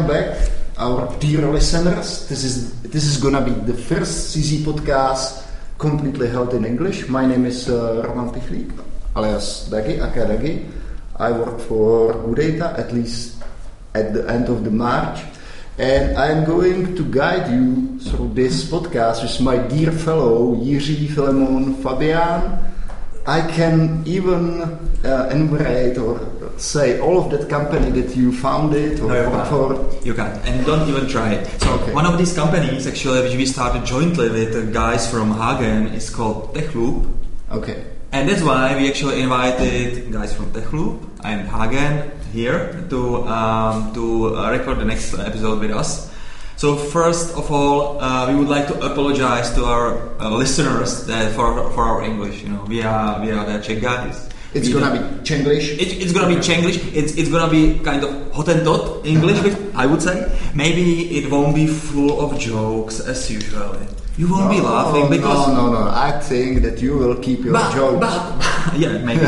welcome back, our dear listeners. This is gonna be the first CZ podcast completely held in English. My name is Roman Pichlík, alias Dagi, aka Dagi. I work for Udata, at least at the end of the March, and I'm going to guide you through this podcast with my dear fellow Jiří, Filemon, Fabian. I can even enumerate or say all of that company that you founded or work for. You can't, and don't even try it. So one of these companies, actually, which we started jointly with the guys from Hagen, is called TechLoop. Okay. And that's why we actually invited guys from TechLoop and Hagen here to record the next episode with us. So first of all, we would like to apologize to our listeners that for our English. You know, we are the Czech guys. It's gonna be Chenglish. It's gonna be Chenglish. It's gonna be kind of Hottentot English, I would say. Maybe it won't be full of jokes as usual. You won't be laughing because no. I think that you will keep your jokes. Yeah, maybe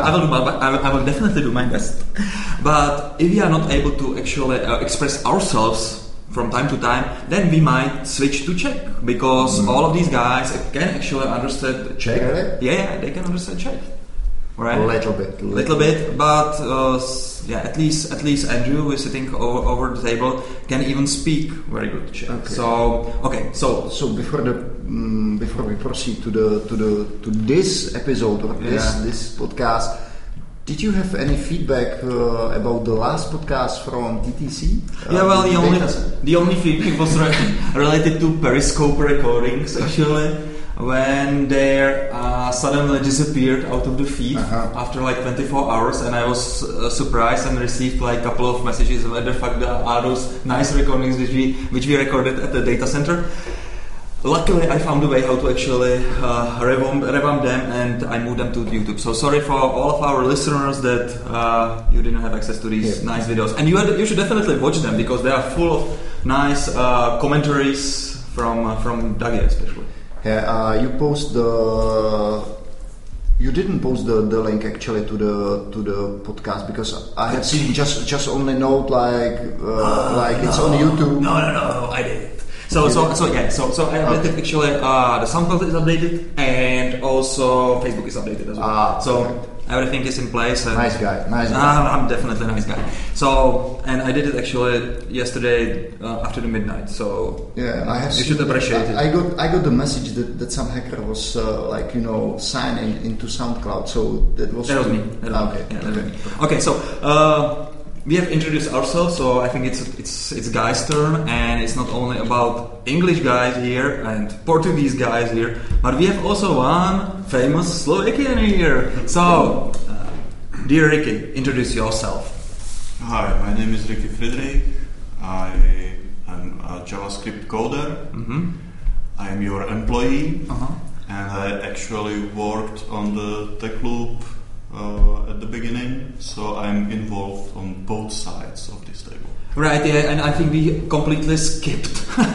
I will definitely do my best. But if we are not able to actually express ourselves from time to time, then we might switch to Czech because all of these guys can actually understand Czech. Really? Yeah, they can understand Czech. Right? A little bit, but at least Andrew, who is sitting over the table, can even speak very good Czech. So before we proceed to this episode or this podcast, did you have any feedback about the last podcast from TTC? The only feedback was related to Periscope recordings actually. When they suddenly disappeared out of the feed after like 24 hours, and I was surprised and received like a couple of messages where the fuck are those nice recordings which we recorded at the data center. Luckily, I found a way how to actually revamp them, and I moved them to YouTube. So sorry for all of our listeners that you didn't have access to these nice videos, and you should definitely watch them because they are full of nice commentaries from Dagi especially. Yeah, you didn't post the link actually to the podcast because I had seen just only note like it's on YouTube. No, I did it. So I updated actually the SoundCloud is updated and also Facebook is updated as well. Everything is in place. And nice guy. I'm definitely a nice guy. So, and I did it actually yesterday after the midnight. So yeah, you should appreciate it. I got the message that some hacker was signing into SoundCloud. So that was me. Okay. So we have introduced ourselves. So I think it's guys' turn, and it's not only about English guys here and Portuguese guys here, but we have also one famous Slovakian here. So, dear Ricky, introduce yourself. Hi, my name is Ricky Friedrich. I am a JavaScript coder. Mm-hmm. I am your employee, and I actually worked on the TechLoop at the beginning, so I'm involved on both sides of this table. Right, yeah, and I think we completely skipped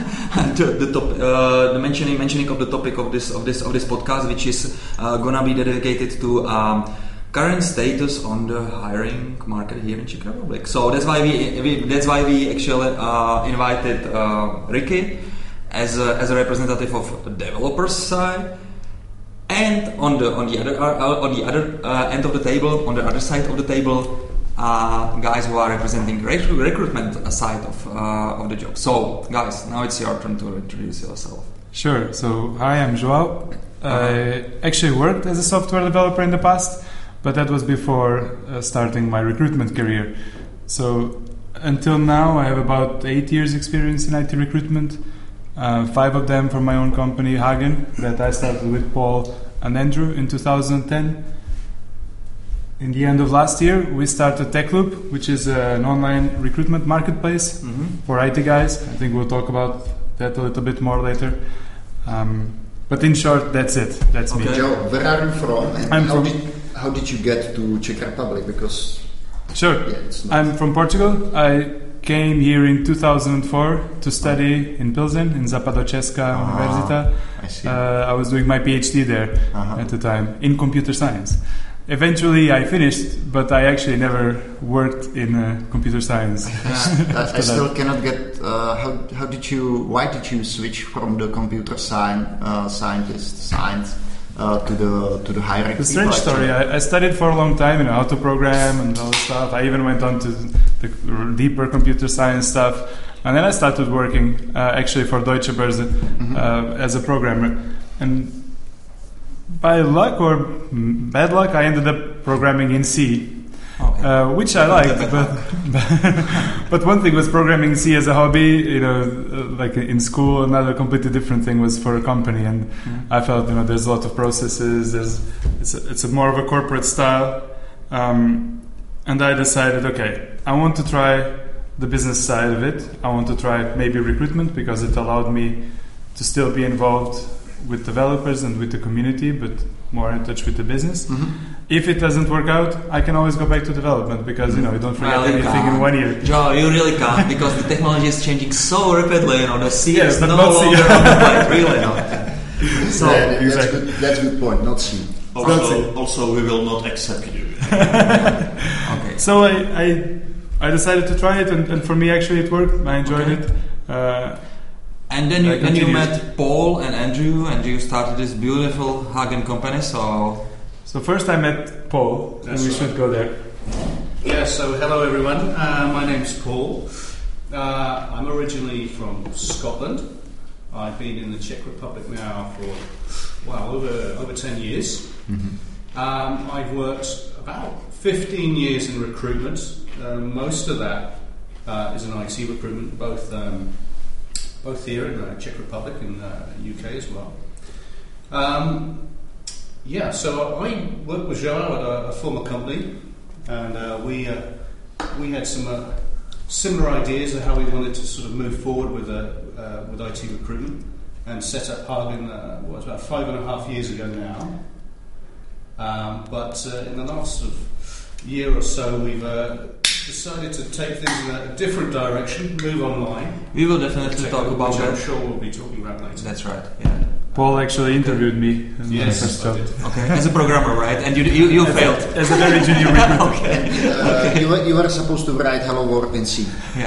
the mentioning of the topic of this podcast, which is gonna be dedicated to current status on the hiring market here in Czech Republic. So that's why we actually invited Ricky as a representative of the developers side. And on the other end of the table, on the other side of the table, guys who are representing recruitment side of the job. So, guys, now it's your turn to introduce yourself. Sure. So, hi, I'm Joao. I actually worked as a software developer in the past, but that was before starting my recruitment career. So, until now, I have about 8 years experience in IT recruitment. 5 of them from my own company, Hagen, that I started with Paul and Andrew in 2010. In the end of last year, we started TechLoop, which is an online recruitment marketplace for IT guys. I think we'll talk about that a little bit more later. But in short, that's it. That's me. Joe, where are you from? And how did you get to Czech Republic? Because I'm from Portugal. I came here in 2004 to study in Pilsen, in Západočeská Univerzita. I see. I was doing my PhD there at the time in computer science. eventually I finished, but I actually never worked in computer science. I still cannot get. Why did you switch from the computer science to the hiring? The strange story. I studied for a long time, how to program and all that stuff. I even went on to the deeper computer science stuff, and then I started working actually for Deutsche Börse as a programmer. And by luck or bad luck, I ended up programming in C, which I liked. But one thing was programming in C as a hobby. Like in school, another completely different thing was for a company. And I felt, there's a lot of processes. It's a more of a corporate style. And I decided, okay, I want to try the business side of it. I want to try maybe recruitment because it allowed me to still be involved with developers and with the community, but more in touch with the business. If it doesn't work out, I can always go back to development because you don't forget anything in 1 year. Joe, you really can't because the technology is changing so rapidly. The C is no not longer on the plate, really not. So that's a good point. Not C. Also, we will not accept you. Okay. So I decided to try it, and for me actually it worked. I enjoyed it. And then you met Paul and Andrew, and you started this beautiful Hagen company. So first I met Paul, and we should go there. Yeah, so hello everyone. My name's Paul. I'm originally from Scotland. I've been in the Czech Republic now for, over 10 years. I've worked about 15 years in recruitment. Most of that is in IT recruitment, both here in the Czech Republic and UK as well. So I worked with Joao at a former company, and we had some similar ideas of how we wanted to sort of move forward with IT recruitment, and set up Hagen about 5.5 years ago now. But in the last sort of year or so, we've decided to take things in a different direction, move online. We will definitely talk about that. I'm sure we'll be talking about later. That's right. Yeah. Paul actually interviewed me. Yes, I did. Okay, as a programmer, right? And you failed. As a very junior recruiter. You were supposed to write Hello World in C. Yeah.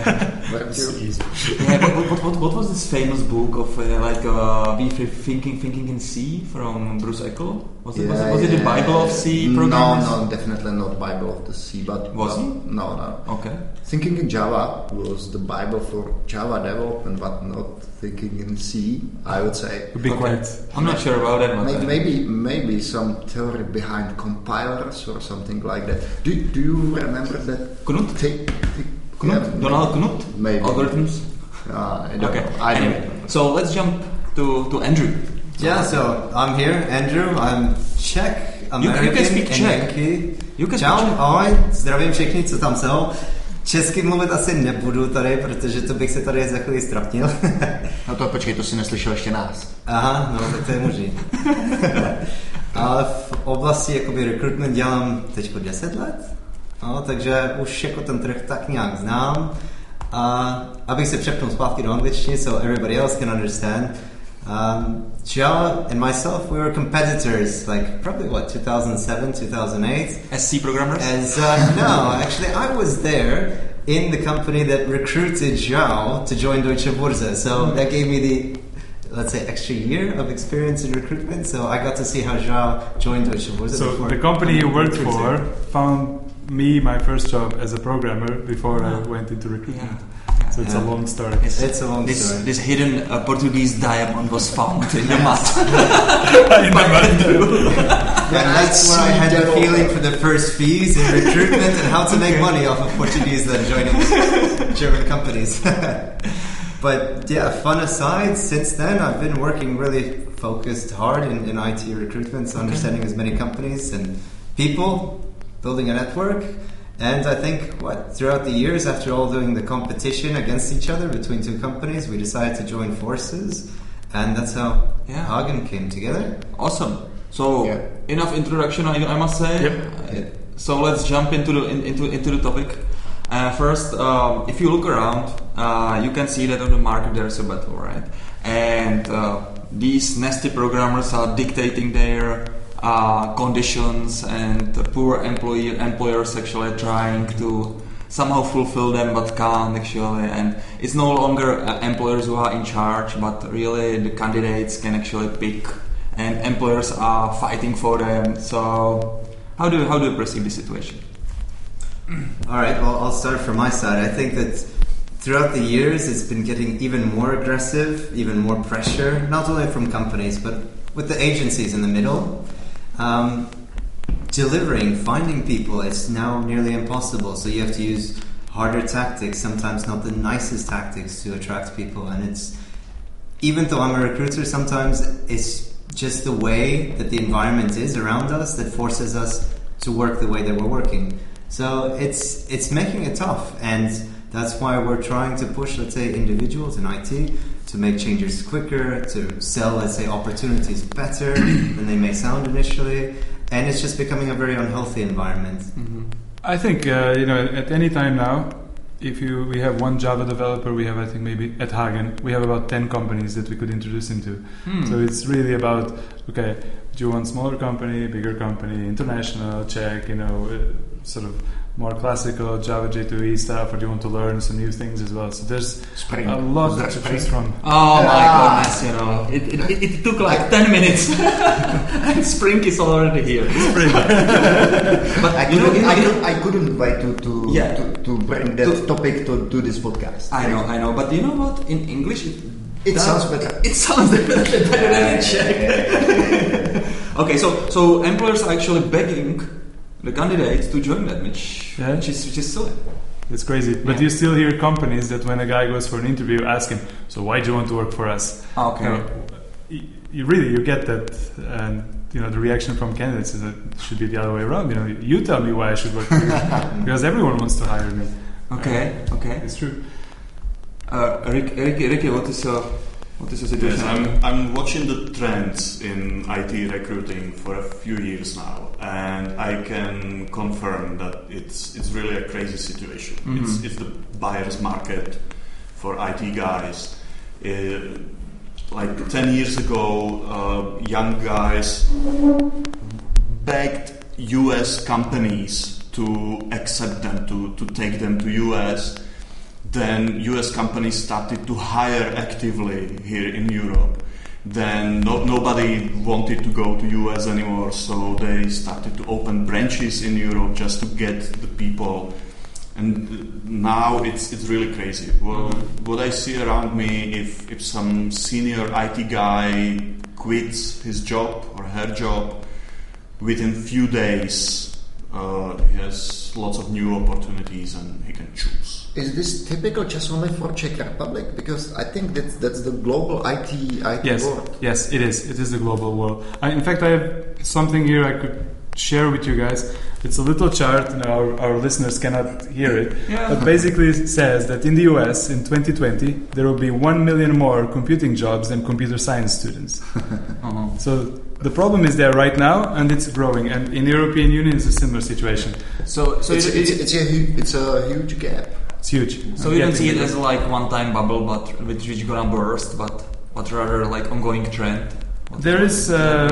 Yeah, what was this famous book of Thinking in C from Bruce Eckle? Was it the Bible of C programmers? No, definitely not Bible of the C. But was it? No. Okay. Thinking in Java was the Bible for Java development, but not thinking in C, I would say. Be quiet. I'm not sure about that one. Maybe some theory behind compilers or something like that. Do you remember that? Knut? Donald Knut? Maybe. Algorithms? I don't know. Anyway, so let's jump to Andrew. Yeah, so I'm here, Andrew. I'm Czech, American, you can speak Czech. Čau, ahoj, zdravím všechny, co tam jsou. Česky mluvit asi nebudu tady, protože to bych se tady za chvíli ztrapnil. No to počkej, to si neslyšel ještě nás. Aha, no tak to je možný. Ale v oblasti jakoby recruitment dělám teď 10 let, no, takže už jako ten trh tak nějak znám. A abych se přepnul zpátky do angličtiny, so everybody else can understand. Joe and myself, we were competitors, like probably 2007, 2008. As C programmers? No, actually I was there in the company that recruited Joao to join Deutsche Börse. So that gave me the, let's say, extra year of experience in recruitment. So I got to see how Joao joined Deutsche Börse. So the company you worked for found me my first job as a programmer before I went into recruitment. Yeah. So it's a long story. It's a long story. This hidden Portuguese diamond was found in the mud. And that's where I had the feeling for the first fees in recruitment and how to make money off of Portuguese then joining German companies. But yeah, fun aside, since then I've been working really focused hard in IT recruitment, so understanding as many companies and people, building a network. And I think, throughout the years, after all doing the competition against each other between two companies, we decided to join forces, and that's how Hagen came together. Awesome. So, enough introduction, I must say. Yep. So let's jump into the topic. First, if you look around, you can see that on the market there is a battle, right? And these nasty programmers are dictating their conditions, and poor employers actually trying to somehow fulfill them but can't actually, and it's no longer employers who are in charge, but really the candidates can actually pick, and employers are fighting for them. So how do you perceive the situation? All right, well, I'll start from my side. I think that throughout the years it's been getting even more aggressive, even more pressure, not only from companies but with the agencies in the middle. Finding people is now nearly impossible, so you have to use harder tactics, sometimes not the nicest tactics, to attract people. And it's, even though I'm a recruiter, sometimes it's just the way that the environment is around us that forces us to work the way that we're working. So it's making it tough, and that's why we're trying to push, let's say, individuals in IT to make changes quicker, to sell, let's say, opportunities better than they may sound initially. And it's just becoming a very unhealthy environment. Mm-hmm. I think, at any time now, we have one Java developer, we have, I think, maybe at Hagen, we have about 10 companies that we could introduce him to. So it's really about, okay, do you want smaller company, bigger company, international, Czech, sort of more classical Java J2E stuff, or do you want to learn some new things as well? So there's Spring. a lot to choose from. Oh my goodness, it took like 10 minutes and Spring is already here. Spring. But I couldn't wait to bring that topic to this podcast. I know, but you know what? In English it sounds better. It sounds definitely better than in Czech. Okay, so employers are actually begging the candidates to join them, which is silly. It's crazy. But you still hear companies that when a guy goes for an interview ask him, so why do you want to work for us? Okay. You get that, and the reaction from candidates is that it should be the other way around. You tell me why I should work for you, because everyone wants to hire me. Okay. It's true. Ricky, what is your situation? Yes, I'm watching the trends in IT recruiting for a few years now, and I can confirm that it's really a crazy situation. Mm-hmm. It's the buyer's market for IT guys. Like 10 years ago, young guys begged US companies to accept them, to take them to US. Then US companies started to hire actively here in Europe. Then nobody wanted to go to US anymore, so they started to open branches in Europe just to get the people. And now it's really crazy. Well, what I see around me, if some senior IT guy quits his job or her job, within few days he has lots of new opportunities and he can choose. Is this typical just only for Czech Republic? Because I think that's the global IT world. Yes, it is. It is the global world. In fact, I have something here I could share with you guys. It's a little chart. Our listeners cannot hear it. Yeah. But basically it says that in the US in 2020 there will be 1 million more computing jobs than computer science students. So the problem is there right now, and it's growing. And in the European Union it's a similar situation. So it's a huge gap. It's huge. So you don't see it as like one-time bubble, but which gonna burst, but rather like ongoing trend. There is.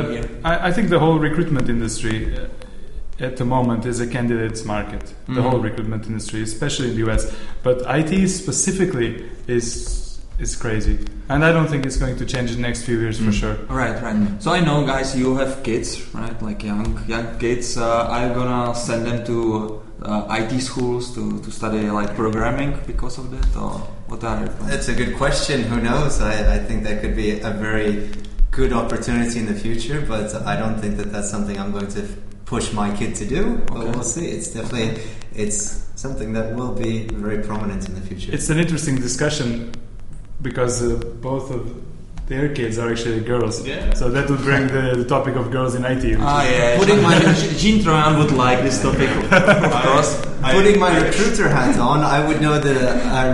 I think the whole recruitment industry at the moment is a candidates market. The whole recruitment industry, especially in the US, but IT specifically is crazy, and I don't think it's going to change in the next few years for sure. Right. So I know, guys, you have kids, right? Like young kids. Are you gonna send them to IT schools to study like programming because of that, or what are you? That's a good question. Who knows? I think that could be a very good opportunity in the future, but I don't think that that's something I'm going to push my kid to do. But we'll see. It's something that will be very prominent in the future. It's an interesting discussion because both of their kids are actually girls. Yeah. So that would bring the topic of girls in IT. Putting my Jean Troyan would like this topic, of course. Putting my recruiter hat on, I would know that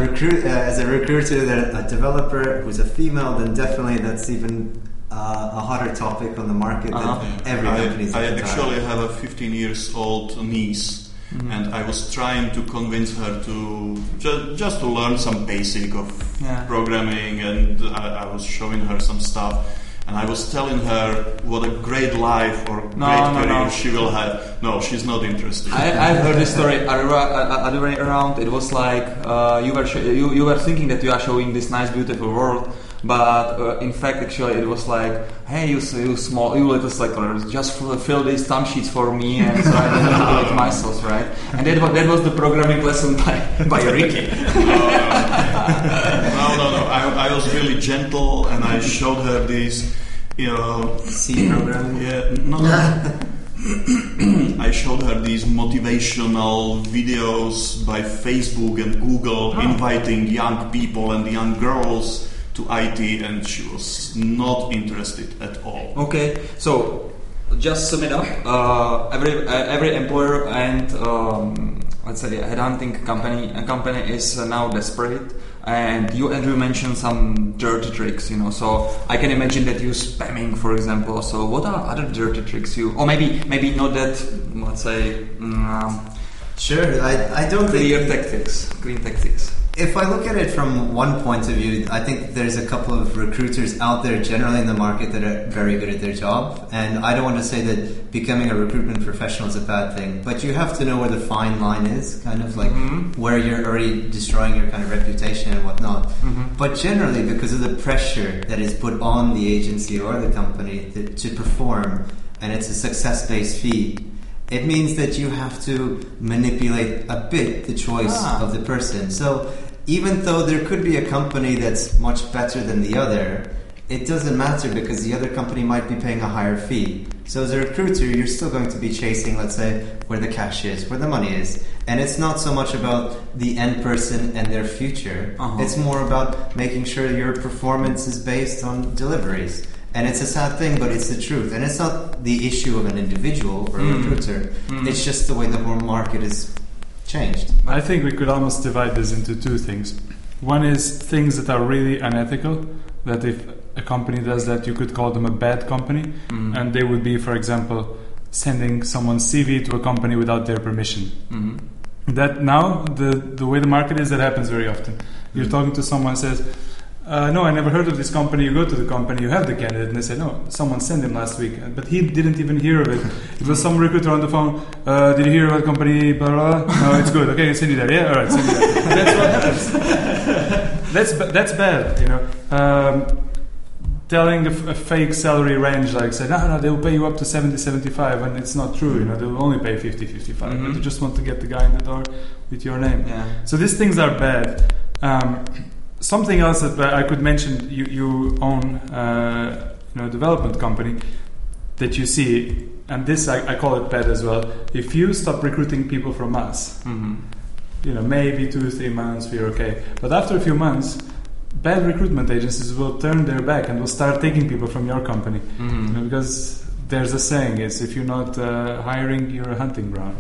as a recruiter, that a developer who's a female, then definitely that's even a hotter topic on the market that every company is. I actually have a 15-year-old niece, and I was trying to convince her to just to learn some basic of programming, and I was showing her some stuff, And I was telling her what a great life or great career she will have. No, she's not interested. I've heard this story other way around. It was like you were thinking that you are showing this nice, beautiful world, but in fact, actually, it was like, hey, you little slacker, just fill these time sheets for me, and so I didn't do it myself, right? And that was the programming lesson by Ricky. No. I was really gentle, and I showed her these, C programming. Yeah, no. I showed her these motivational videos by Facebook and Google, inviting young people and young girls to IT, and she was not interested at all. Okay, so just sum it up. Every employer and let's say a headhunting company is now desperate. And you, Andrew, mentioned some dirty tricks, so I can imagine that you spamming, for example. So what are other dirty tricks or maybe not that, let's say, sure, I don't clean think... tactics. If I look at it from one point of view, I think there's a couple of recruiters out there generally in the market that are very good at their job. And I don't want to say that becoming a recruitment professional is a bad thing, but you have to know where the fine line is, kind of like where you're already destroying your kind of reputation and whatnot. But generally, because of the pressure that is put on the agency or the company to perform, and it's a success-based fee, it means that you have to manipulate a bit the choice of the person. So even though there could be a company that's much better than the other, it doesn't matter because the other company might be paying a higher fee. So as a recruiter, you're still going to be chasing, let's say, where the cash is, where the money is. And it's not so much about the end person and their future. It's more about making sure your performance is based on deliveries. And it's a sad thing, but it's the truth. And it's not the issue of an individual or a recruiter. It's just the way the whole market is changed. I think we could almost divide this into two things. One is things that are really unethical, that if a company does that, you could call them a bad company. And they would be, for example, sending someone's CV to a company without their permission. That now, the way the market is, that happens very often. You're talking to someone who says, no, I never heard of this company. You go to the company, you have the candidate, and they say, no, someone sent him last week, but he didn't even hear of it. It was some recruiter on the phone. Did you hear about company? Blah, blah, blah? No, it's good. Okay, I'll send you there. Yeah, all right, send you there. That's what happens. That's bad, telling a fake salary range, like say, no, they'll pay you up to 70, 75, and it's not true. They'll only pay 50, 55, but you just want to get the guy in the door with your name. Yeah. So these things are bad. Something else that I could mention, you own a development company that you see, and this I call it bad as well. If you stop recruiting people from us, maybe 2-3 months we're okay, but after a few months, bad recruitment agencies will turn their back and will start taking people from your company, because there's a saying: is if you're not hiring, you're a hunting ground.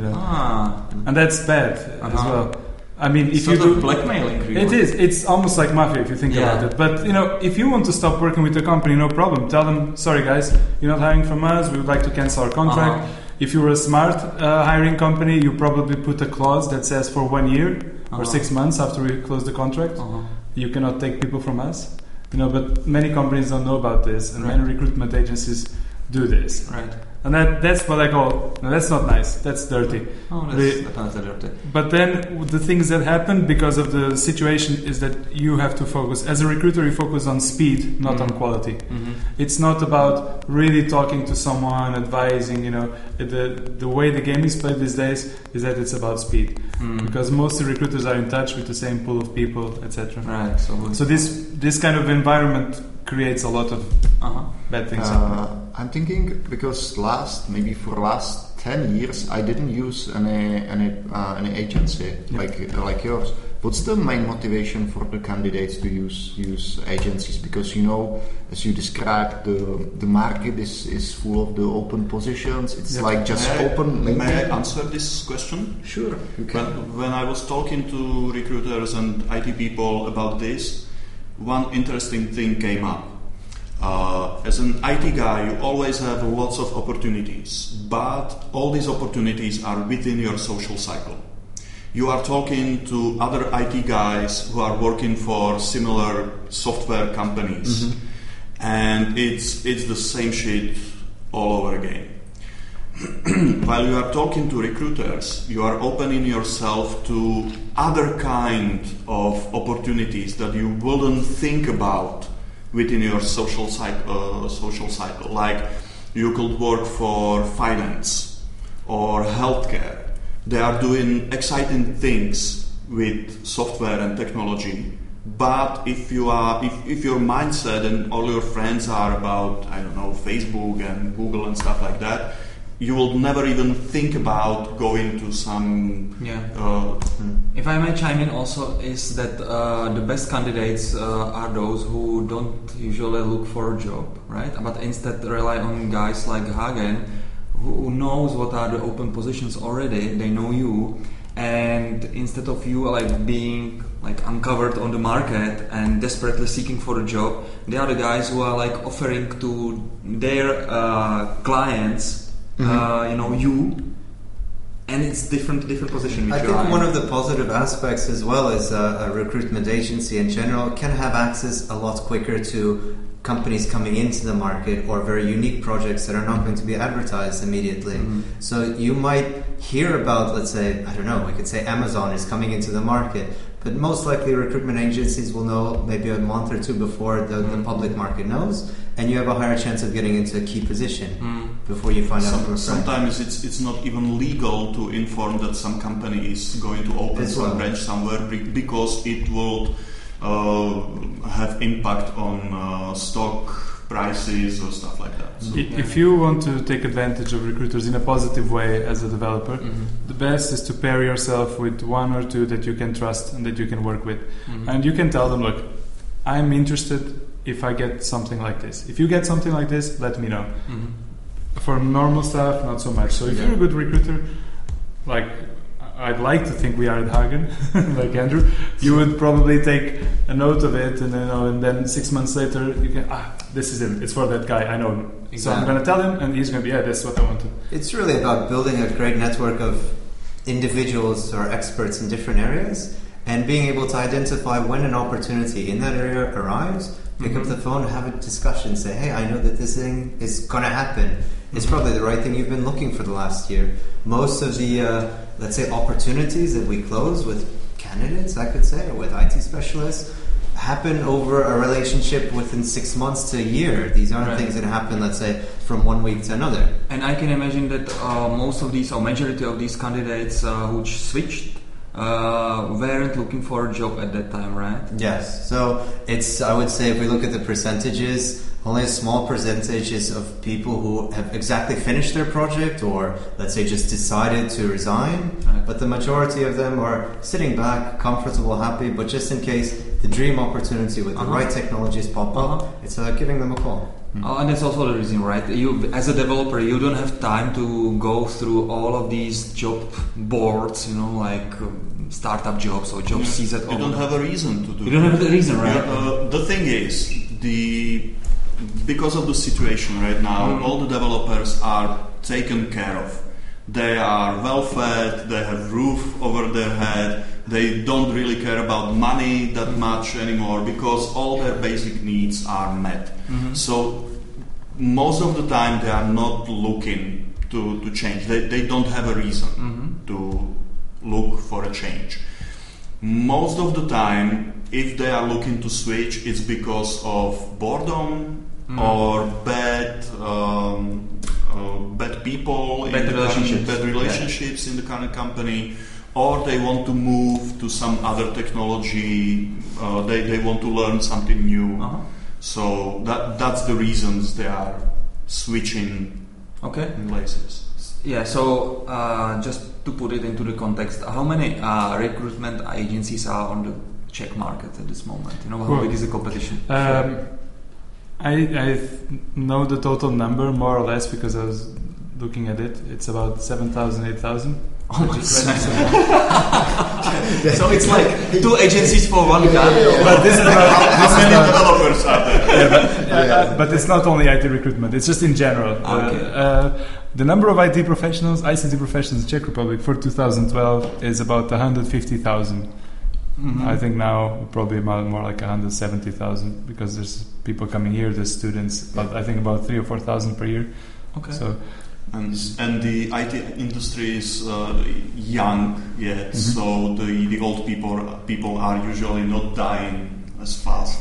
And that's bad as well. I mean, if you do blackmailing, it is. It's almost like mafia if you think about it. But if you want to stop working with the company, no problem. Tell them, sorry guys, you're not hiring from us. We would like to cancel our contract. If you're a smart hiring company, you probably put a clause that says for 1 year or 6 months after we close the contract, you cannot take people from us. But many companies don't know about this, and many recruitment agencies do this. Right. And that's what I call, that's not nice, that's dirty. That's dirty. But then the things that happen because of the situation is that you have to focus. As a recruiter, you focus on speed, not on quality. It's not about really talking to someone, advising, the way the game is played these days is that it's about speed. Because most recruiters are in touch with the same pool of people, etc. Right. So this kind of environment creates a lot of bad things happening. I'm thinking because maybe for last 10 years I didn't use any agency like yours. What's the main motivation for the candidates to use agencies? Because as you described, the market is full of the open positions. It's like just open. May I answer this question? Sure, you can. When I was talking to recruiters and IT people about this, one interesting thing came up. As an IT guy, you always have lots of opportunities, but all these opportunities are within your social cycle. You are talking to other IT guys who are working for similar software companies, and it's the same shit all over again. While you are talking to recruiters, you are opening yourself to other kind of opportunities that you wouldn't think about within your social cycle. Like you could work for finance or healthcare. They are doing exciting things with software and technology. But if your mindset and all your friends are about, I don't know, Facebook and Google and stuff like that, you will never even think about going to some... If I may chime in also, is that the best candidates are those who don't usually look for a job, right? But instead rely on guys like Hagen, who knows what are the open positions already, they know you, and instead of you like being like uncovered on the market and desperately seeking for a job, they are the guys who are like offering to their clients you, and it's different position. I think one of the positive aspects as well is a recruitment agency in general can have access a lot quicker to companies coming into the market or very unique projects that are not going to be advertised immediately. So you might hear about, let's say, I don't know, we could say Amazon is coming into the market, but most likely recruitment agencies will know maybe a month or two before the public market knows, and you have a higher chance of getting into a key position before you find out. Sometimes it's not even legal to inform that some company is going to open some branch somewhere because it will have impact on stock prices or stuff like that. So, if you want to take advantage of recruiters in a positive way as a developer, the best is to pair yourself with one or two that you can trust and that you can work with. And you can tell them, look, I'm interested if I get something like this. If you get something like this, let me know. For normal stuff, not so much. So if you're a good recruiter, like I'd like to think we are at Hagen, like Andrew, you would probably take a note of it, and then 6 months later you can, this is it. It's for that guy. I know him. Exactly. So I'm going to tell him, and he's going to be, that's what I want to. It's really about building a great network of individuals or experts in different areas, and being able to identify when an opportunity in that area arrives. Pick up the phone, have a discussion, say, hey, I know that this thing is going to happen. It's probably the right thing you've been looking for the last year. Most of the, let's say, opportunities that we close with candidates, I could say, or with IT specialists, happen over a relationship within 6 months to a year. These aren't things that happen, let's say, from 1 week to another. And I can imagine that most of these, or majority of these candidates who switched, weren't looking for a job at that time, right? Yes. So it's, I would say, if we look at the percentages, only a small percentage is of people who have exactly finished their project or, let's say, just decided to resign. Right. But the majority of them are sitting back, comfortable, happy, but just in case the dream opportunity with the right technologies pop up, it's giving them a call. And that's also the reason, right? You, as a developer, you don't have time to go through all of these job boards, like startup jobs or job seeds at all. You don't have a reason to do. You don't have the reason, right? The thing is, because of the situation right now, all the developers are taken care of. They are well fed. They have roof over their head. They don't really care about money that much anymore because all their basic needs are met. So most of the time they are not looking to change. They don't have a reason to look for a change. Most of the time, if they are looking to switch, it's because of boredom or bad people, bad relationships in the current company, or they want to move to some other technology. They want to learn something new. So that's the reasons they are switching places. Yeah. So just to put it into the context, how many recruitment agencies are on the Czech market at this moment? How big is the competition? I know the total number more or less because I was looking at it. It's about 7,000, 8,000. Oh my So it's like 2 agencies for one guy. But this is how many developers are there? But it's not only IT recruitment. It's just in general. The number of IT professionals, ICT professionals in Czech Republic for 2012 is about 150,000. I think now probably more like 170,000 because there's people coming here, the students. But I think about 3,000 or 4,000 per year. Okay. So. And the IT industry is young yet, so the old people are usually not dying as fast.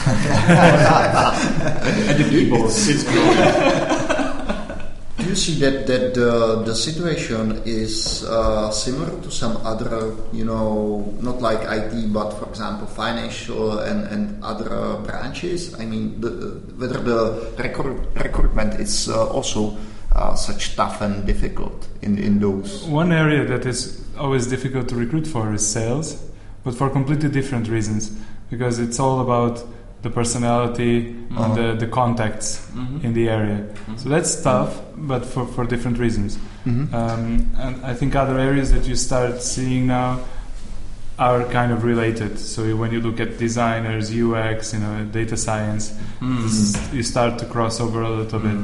At the keyboard. It's growing. Do you see that the situation is similar to some other, not like IT, but for example financial and other branches? I mean, whether the recruitment is also such tough and difficult in those? One area that is always difficult to recruit for is sales, but for completely different reasons, because it's all about the personality and the contacts in the area. So that's tough, but for different reasons. And I think other areas that you start seeing now are kind of related. So when you look at designers, UX, data science, you start to cross over a little bit.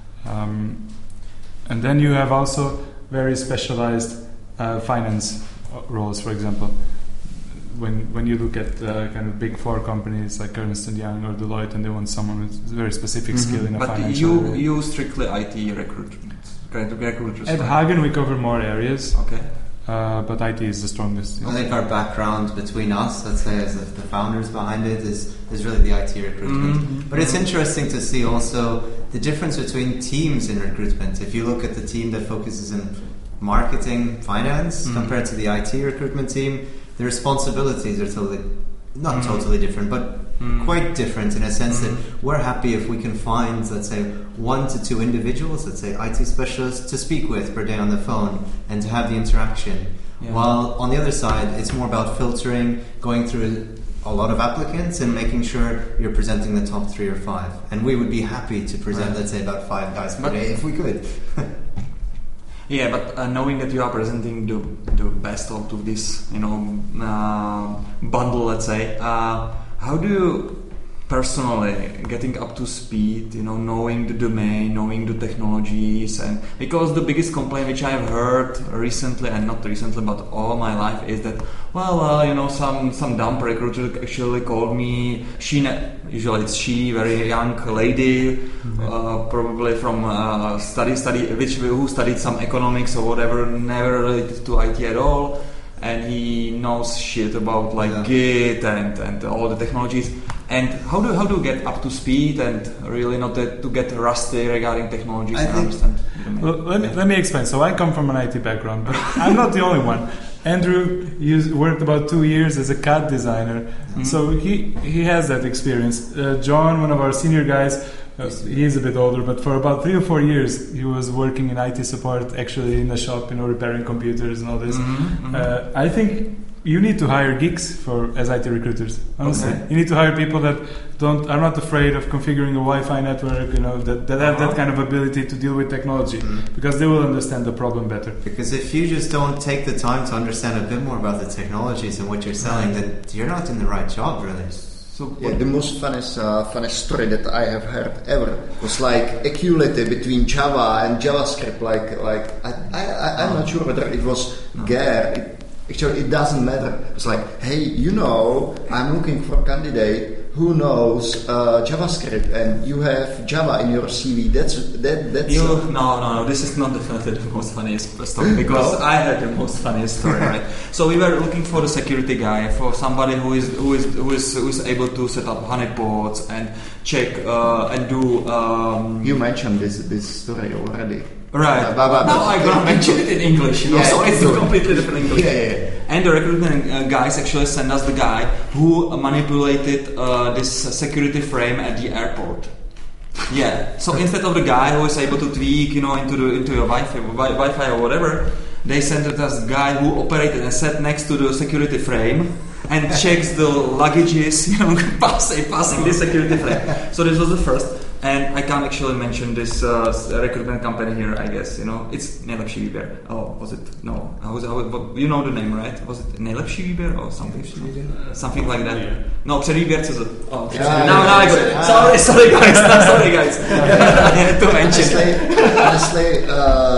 And then you have also very specialized finance roles, for example. When you look at kind of big four companies like Ernst & Young or Deloitte, and they want someone with very specific skill in a financial area. But you strictly IT recruitment, recruiters. At Hagen we cover more areas. Okay. But IT is the strongest. I think our background between us, let's say as the founders behind it, is really the IT recruitment. But it's interesting to see also the difference between teams in recruitment. If you look at the team that focuses in marketing, finance, compared to the IT recruitment team, the responsibilities are not totally different, but quite different in a sense that we're happy if we can find, let's say, 1 to 2 individuals, let's say IT specialists, to speak with per day on the phone and to have the interaction. Yeah. While on the other side, it's more about filtering, going through a lot of applicants and making sure you're presenting the top 3 or 5. And we would be happy to present, let's say, about 5 guys per day if we could. Yeah, but knowing that you are presenting the best out of this, bundle, let's say, how do you personally getting up to speed, knowing the domain, knowing the technologies, and because the biggest complaint which I have heard recently, and not recently, but all my life, is that some dumb recruiter actually called me. Usually it's she, very young lady, probably from who studied some economics or whatever, never related to IT at all. And he knows shit about Git and all the technologies. And how do you get up to speed and really not to get rusty regarding technologies? I understand. Well, let me explain. So I come from an IT background, but I'm not the only one. Andrew worked about 2 years as a CAD designer, so he has that experience. John, one of our senior guys, he's a bit older, but for about 3 or 4 years he was working in IT support, actually in the shop, repairing computers and all this. I think you need to hire geeks as IT recruiters. Honestly, you need to hire people that are not afraid of configuring a Wi-Fi network. That have that kind of ability to deal with technology, because they will understand the problem better. Because if you just don't take the time to understand a bit more about the technologies and what you're selling, then you're not in the right job, really. So the most funnest story that I have heard ever was equality between Java and JavaScript. I'm not sure whether it was Gare. Actually, it doesn't matter. It's hey, I'm looking for a candidate who knows JavaScript, and you have Java in your CV. That's No. This is not definitely the most funniest story, because I had the most funniest story, right? So we were looking for the security guy, for somebody who is able to set up honeypots and check and do. You mentioned this story already. Right. Now I'm gonna mention it in English, so it's a completely different English. Yeah. And the recruitment guys actually sent us the guy who manipulated this security frame at the airport. Yeah. So instead of the guy who is able to tweak, into your Wi-Fi or whatever, they sent us the guy who operated and sat next to the security frame and checks the luggages, passing this security frame. So this was the first. And I can't actually mention this recruitment company here, I guess, It's Nejlepší výběr. Oh, was it? No. You know the name, right? Was it Nejlepší výběr or something? Something like that. No, Předvýběr.cz. Oh, now I got it. Sorry guys. I had to mention it. Honestly,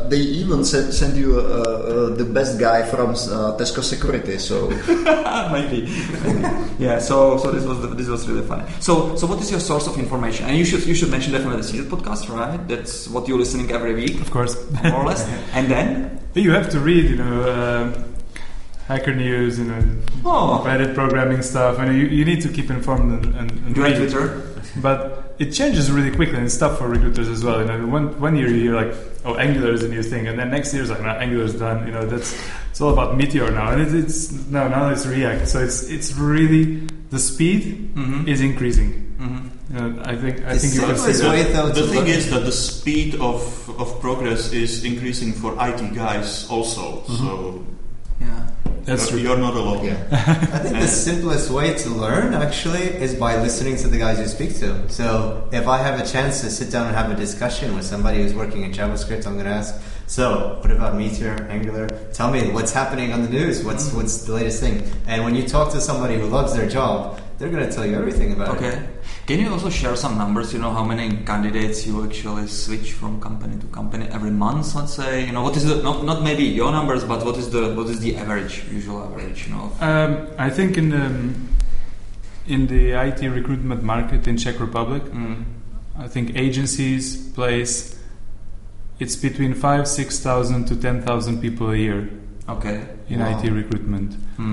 they even send you the best guy from Tesco Security. So maybe. Yeah. So this was really funny. So what is your source of information? And you should mention definitely the Seeded podcast, right? That's what you're listening every week, of course, more or less. And then you have to read, Hacker News, Reddit programming stuff, and you need to keep informed and do you have Twitter? But it changes really quickly, and it's tough for recruiters as well. One year you hear like, oh, Angular is a new thing, and then next year it's like, no, Angular is done. It's all about Meteor now, and now it's React. So it's really the speed is increasing. I think you can see that. The thing is that the speed of progress is increasing for IT guys also. So. Yeah, that's true. You're not alone. Yeah. I think the simplest way to learn actually is by listening to the guys you speak to. So if I have a chance to sit down and have a discussion with somebody who's working in JavaScript, I'm going to ask, so what about Meteor, Angular? Tell me what's happening on the news. What's the latest thing? And when you talk to somebody who loves their job, they're going to tell you everything about it. Okay. Can you also share some numbers? How many candidates you actually switch from company to company every month? Let's say. What is the not maybe your numbers, but what is the average, usual average? I think in the IT recruitment market in Czech Republic, I think agencies place it's between 6,000 to 10,000 people a year. Okay. In IT recruitment.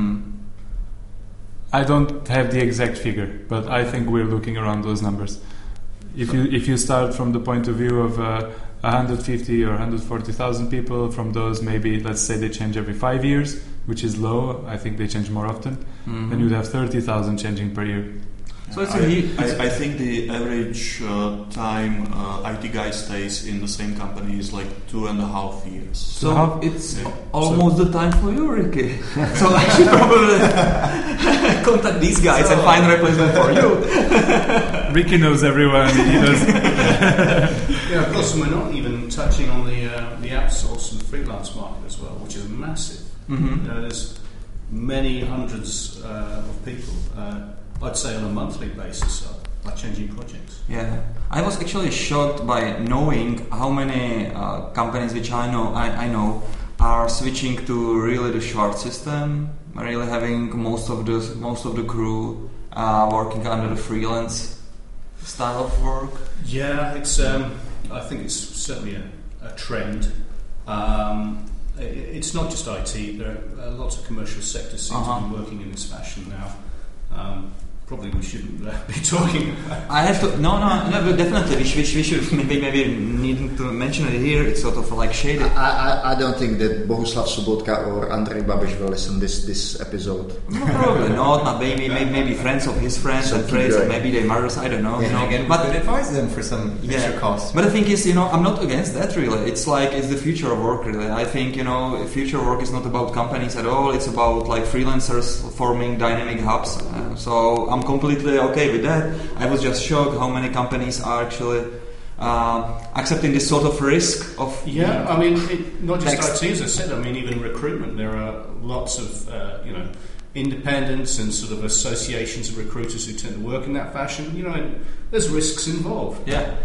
I don't have the exact figure, but I think we're looking around those numbers. If you start from the point of view of 150 or 140,000 people, from those maybe let's say they change every 5 years, which is low. I think they change more often. Then you'd have 30,000 changing per year. So I think the average time IT guy stays in the same company is like 2.5 years. So it's almost the time for you, Ricky. So I should probably contact these guys and find a replacement for you. Ricky knows everyone. He knows. Of course, we're not even touching on the outsource and freelance market as well, which is massive. There's many hundreds of people. I'd say on a monthly basis by changing projects. Yeah, I was actually shocked by knowing how many companies which I know are switching to really the short system, really having most of the crew working under the freelance style of work. Yeah, it's. I think it's certainly a trend. It's not just IT. There are lots of commercial sectors seem to be working in this fashion now. Probably we shouldn't be talking about. I have to. No, but definitely we should maybe need to mention it here. It's sort of like shady. I don't think that Bohuslav Sobotka or Andrej Babiš will listen this episode. No, probably not. Maybe friends of his friends and friends, and maybe their mothers. I don't know. Again, but could advise them for some extra cost. But the thing is, I'm not against that really. It's like it's the future of work really. I think future work is not about companies at all. It's about like freelancers forming dynamic hubs. So I'm completely okay with that. I was just shocked how many companies are actually accepting this sort of risk of... Yeah, I mean, not just IT, as I said, I mean, even recruitment. There are lots of, independents and sort of associations of recruiters who tend to work in that fashion. And there's risks involved. Yeah.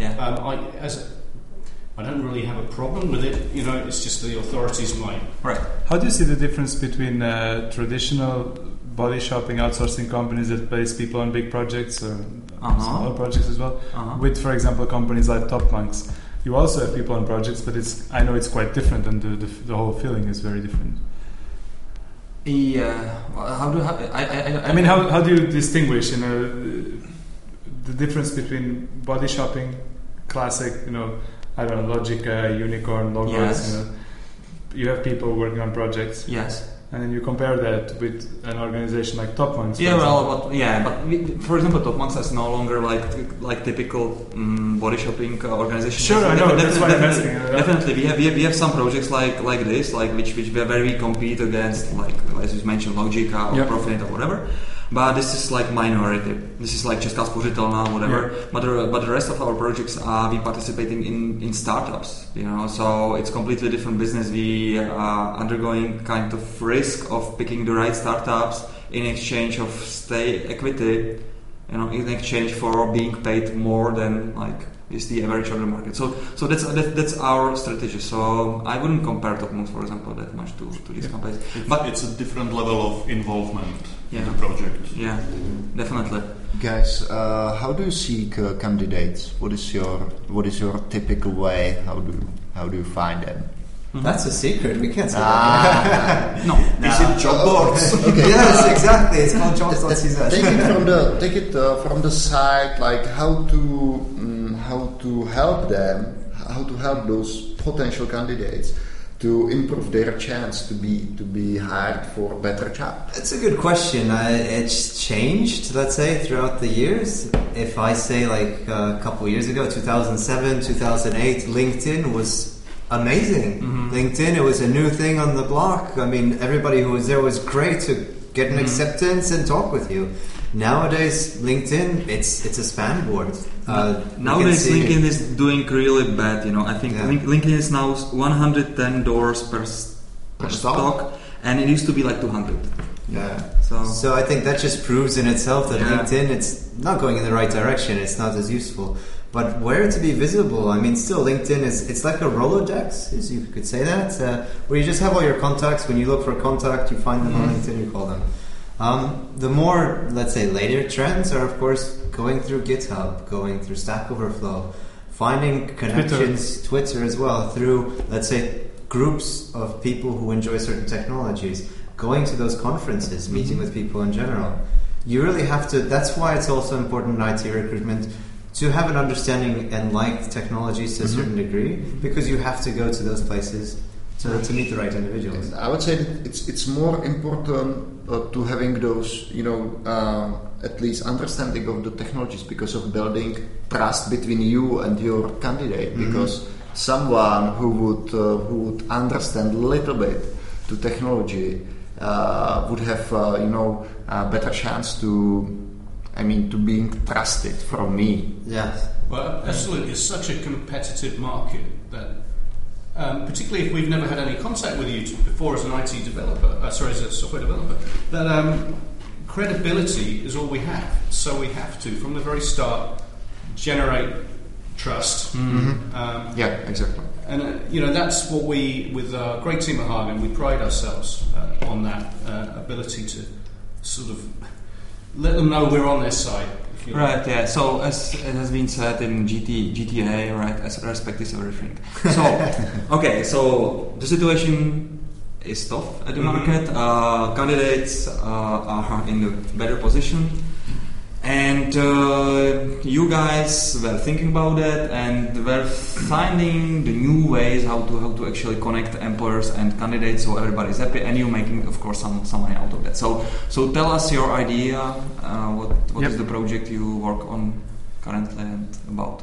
I don't really have a problem with it. It's just the authorities might. Right. How do you see the difference between traditional body shopping outsourcing companies that place people on big projects or smaller projects as well, with, for example, companies like Topmonks? You also have people on projects, but I know it's quite different, and the whole feeling is very different. Yeah. How do you distinguish, the difference between body shopping, classic, I don't know, Logica, Unicorn, Logos. Yes. You have people working on projects. Yes. And then you compare that with an organization like Topmonks. But for example, Topmonks is no longer like typical body shopping organization. Sure, I know. That's why I'm asking. Definitely, we have some projects like this, where we compete against, like as you mentioned, Logica or Profit or whatever. But this is like minority. This is like Česká spořitelná, whatever. Yeah. But the rest of our projects are we participating in startups. So it's completely different business. We are undergoing kind of risk of picking the right startups in exchange of equity in exchange for being paid more than like is the average of the market. So that's our strategy. So I wouldn't compare TopMoocs, for example, that much to these companies. But it's a different level of involvement in the Yeah. project. Yeah, definitely. Guys, how do you seek candidates? What is your typical way? How do you find them? That's a secret. We can't say that. No. Is it job boards? Okay. Yes, exactly. It's called jobs.cz. Take it from the side, like how to help them, how to help those potential candidates to improve their chance to be hired for a better job. It's a good question. It's changed, let's say, throughout the years. If I say like a couple years ago, 2007, 2008, LinkedIn was amazing. LinkedIn, it was a new thing on the block. I mean, everybody who was there was great to get an acceptance and talk with you. Nowadays, LinkedIn, it's a spam board. Nowadays, LinkedIn is doing really bad. I think LinkedIn is now $110 per stock, and it used to be like 200. Yeah. So I think that just proves in itself that Yeah. LinkedIn, it's not going in the right direction. It's not as useful. But where to be visible? I mean, still LinkedIn it's like a Rolodex, as you could say that, where you just have all your contacts. When you look for a contact, you find them on LinkedIn, you call them. The more, let's say, later trends are, of course, going through GitHub, going through Stack Overflow, finding connections, Twitter as well, through, let's say, groups of people who enjoy certain technologies, going to those conferences, meeting with people in general. You really have to, that's why it's also important in IT recruitment to have an understanding and like technologies to a certain degree, because you have to go to those places to meet the right individuals. I would say that it's more important to having those, at least understanding of the technologies, because of building trust between you and your candidate. Because someone who would understand a little bit to technology would have a better chance to being trusted from me. Yes. Well, absolutely. It's such a competitive market that, particularly if we've never had any contact with you before as an IT developer, as a software developer, that credibility is all we have. So we have to, from the very start, generate trust. Yeah, exactly. And that's what we, with our great team at Hagen, we pride ourselves on that ability to sort of let them know we're on their side. Right, yeah. So as it has been said in GTA, right, as respect is everything. So, okay, so the situation is tough at the market. Candidates are in a better position. And you guys were thinking about that and were finding the new ways how to actually connect employers and candidates so everybody's happy, and you making, of course, some money out of that. So tell us your idea. What is the project you work on currently and about?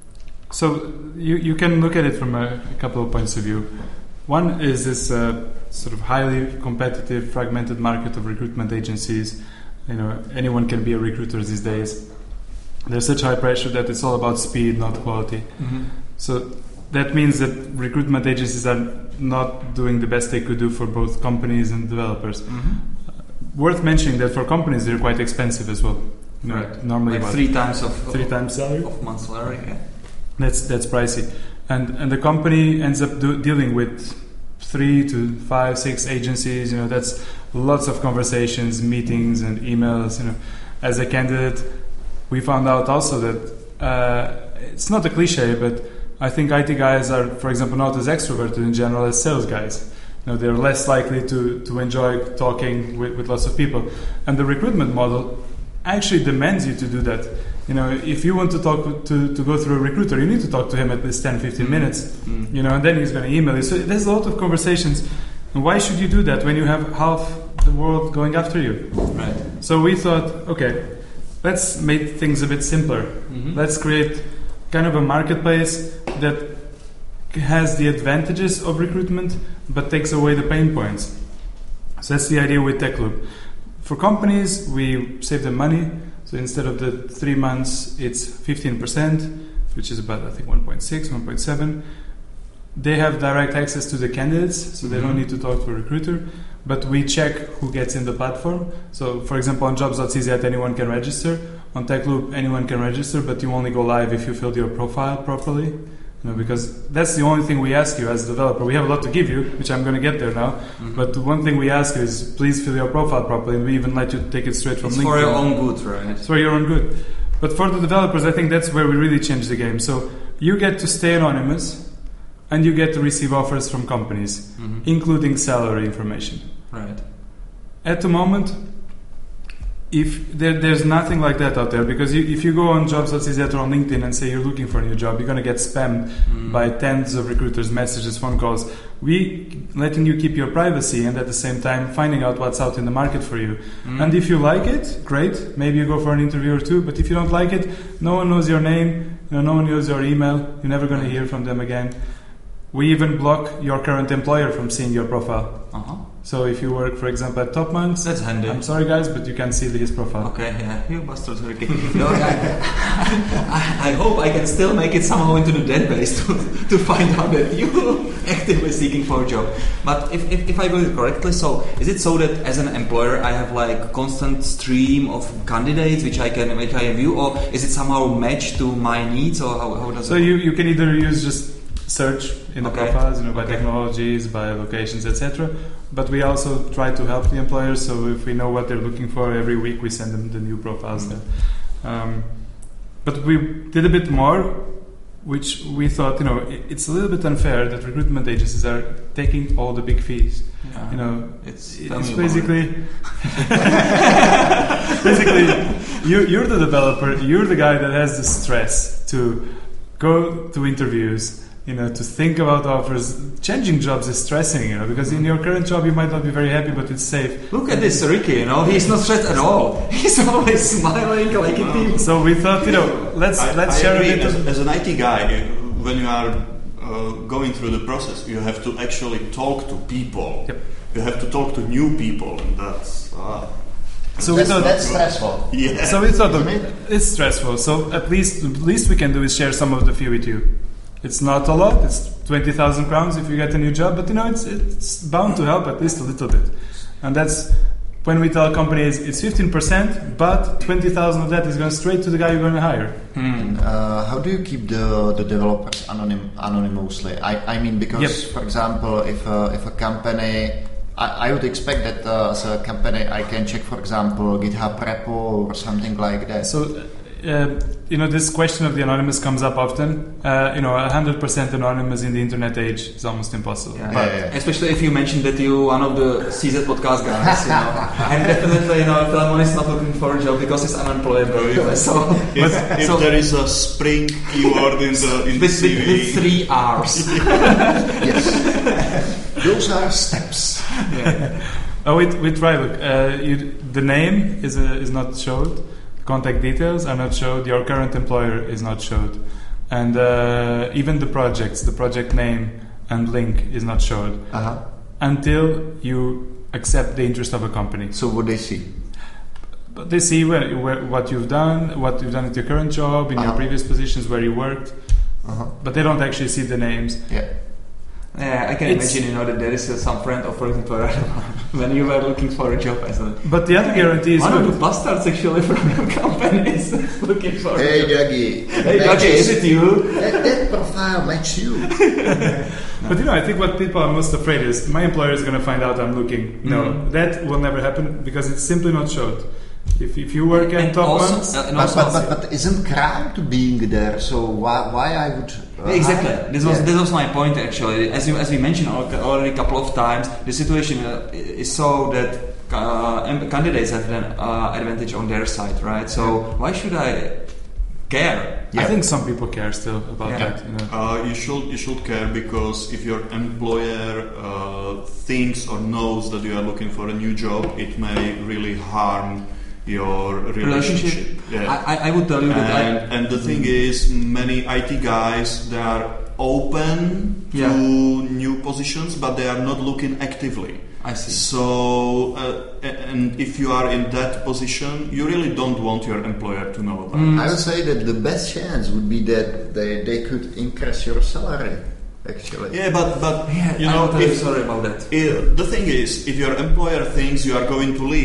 So you can look at it from a couple of points of view. One is this sort of highly competitive, fragmented market of recruitment agencies. Anyone can be a recruiter these days. There's such high pressure that it's all about speed, not quality. So that means that recruitment agencies are not doing the best they could do for both companies and developers. Worth mentioning that for companies they're quite expensive as well. Right. Normally like three times salary of month salary. Yeah. That's pricey, and the company ends up dealing with 3 to 5, 6 agencies. That's lots of conversations, meetings, and emails. As a candidate, we found out also that it's not a cliche, but I think IT guys are, for example, not as extroverted in general as sales guys. They're less likely to enjoy talking with lots of people, and the recruitment model actually demands you to do that. If you want to talk to go through a recruiter, you need to talk to him at least 10-15 minutes. And then he's going to email you. So there's a lot of conversations. And why should you do that when you have half the world going after you? Right. So we thought, okay, let's make things a bit simpler. Let's create kind of a marketplace that has the advantages of recruitment but takes away the pain points. So that's the idea with TechLoop. For companies, we save them money. So instead of the 3 months, it's 15%, which is about, I think, 1.6, 1.7. They have direct access to the candidates, so they don't need to talk to a recruiter. But we check who gets in the platform. So, for example, on jobs.cz, anyone can register. on TechLoop, anyone can register, but you only go live if you filled your profile properly. Because that's the only thing we ask you as a developer. We have a lot to give you, which I'm going to get there now. Mm-hmm. But the one thing we ask you is please fill your profile properly, and we even let you take it straight from LinkedIn. It's for your own good, right? It's for your own good. But for the developers, I think that's where we really change the game. So you get to stay anonymous, and you get to receive offers from companies, including salary information. Right. At the moment, if there's nothing like that out there, because if you go on jobs.cz or on LinkedIn and say you're looking for a new job, you're going to get spammed by tens of recruiters, messages, phone calls. We letting you keep your privacy and at the same time finding out what's out in the market for you. And if you like it, great. Maybe you go for an interview or two. But if you don't like it, no one knows your name. No one knows your email. You're never going to hear from them again. We even block your current employer from seeing your profile. So if you work, for example, at Top Monks, that's handy. I'm sorry, guys, but you can see his profile. Okay, yeah, you bastards are okay. No, I hope I can still make it somehow into the database to find out that you actively seeking for a job. But if I got it correctly, so is it so that as an employer I have like constant stream of candidates which I can view, or is it somehow matched to my needs, or how does it work? You can either use just search in the profiles, by technologies, by locations, etc. But we also try to help the employers. So if we know what they're looking for, every week we send them the new profiles. But we did a bit more, which we thought, it's a little bit unfair that recruitment agencies are taking all the big fees. It's basically you're the developer, you're the guy that has the stress to go to interviews, to think about offers. Changing jobs is stressing, because in your current job you might not be very happy, but it's safe. Look at this Ricky, he's not stressed at all. He's always smiling like a team. So we thought, let's share agree. a bit. As an IT guy, when you are going through the process, you have to actually talk to people. Yep. You have to talk to new people, and that's... that's stressful. Yeah. So we thought it's stressful. So at least we can do is share some of the fee with you. It's not a lot. It's 20,000 crowns if you get a new job, but it's bound to help at least a little bit. And that's when we tell companies it's 15%, but 20,000 of that is going straight to the guy you're going to hire. How do you keep the developers anonymously? I mean, because for example, if a company, I would expect that as a company I can check, for example, GitHub repo or something like that. So, this question of the anonymous comes up often. 100% anonymous in the internet age is almost impossible. Especially if you mention that you're one of the CZ podcast guys. And definitely, Philemon is not looking for a job because he's unemployable. If there is a spring keyword in the CV. With 3 R's. Yes. Those are steps. We try. Look, the name is not showed. Contact details are not showed. Your current employer is not showed, and even the project name and link is not showed until you accept the interest of a company. So what they see? But they see what you've done at your current job, in your previous positions where you worked, but they don't actually see the names. Yeah, I can imagine, that there is some friend offering to when you were looking for a job as a... But the other guarantee is... One of the bastards actually from your company is looking for Hey, Dougie. Hey, Dougie, is it you? That profile match you. But I think what people are most afraid is my employer is going to find out I'm looking. No, that will never happen because it's simply not showed. If you work at Top Monks... But isn't crime to being there? So why I would... Exactly. This was my point actually. As we mentioned already a couple of times, the situation is so that candidates have an advantage on their side, right? So why should I care? I think some people care still about that. You should care, because if your employer thinks or knows that you are looking for a new job, it may really harm your relationship. I would tell you that. And the thing is, many IT guys, they are open to new positions, but they are not looking actively. I see. So, and if you are in that position, you really don't want your employer to know about it. I would say that the best chance would be that they could increase your salary. Actually. Yeah, but sorry about that. The thing is, if your employer thinks you are going to leave,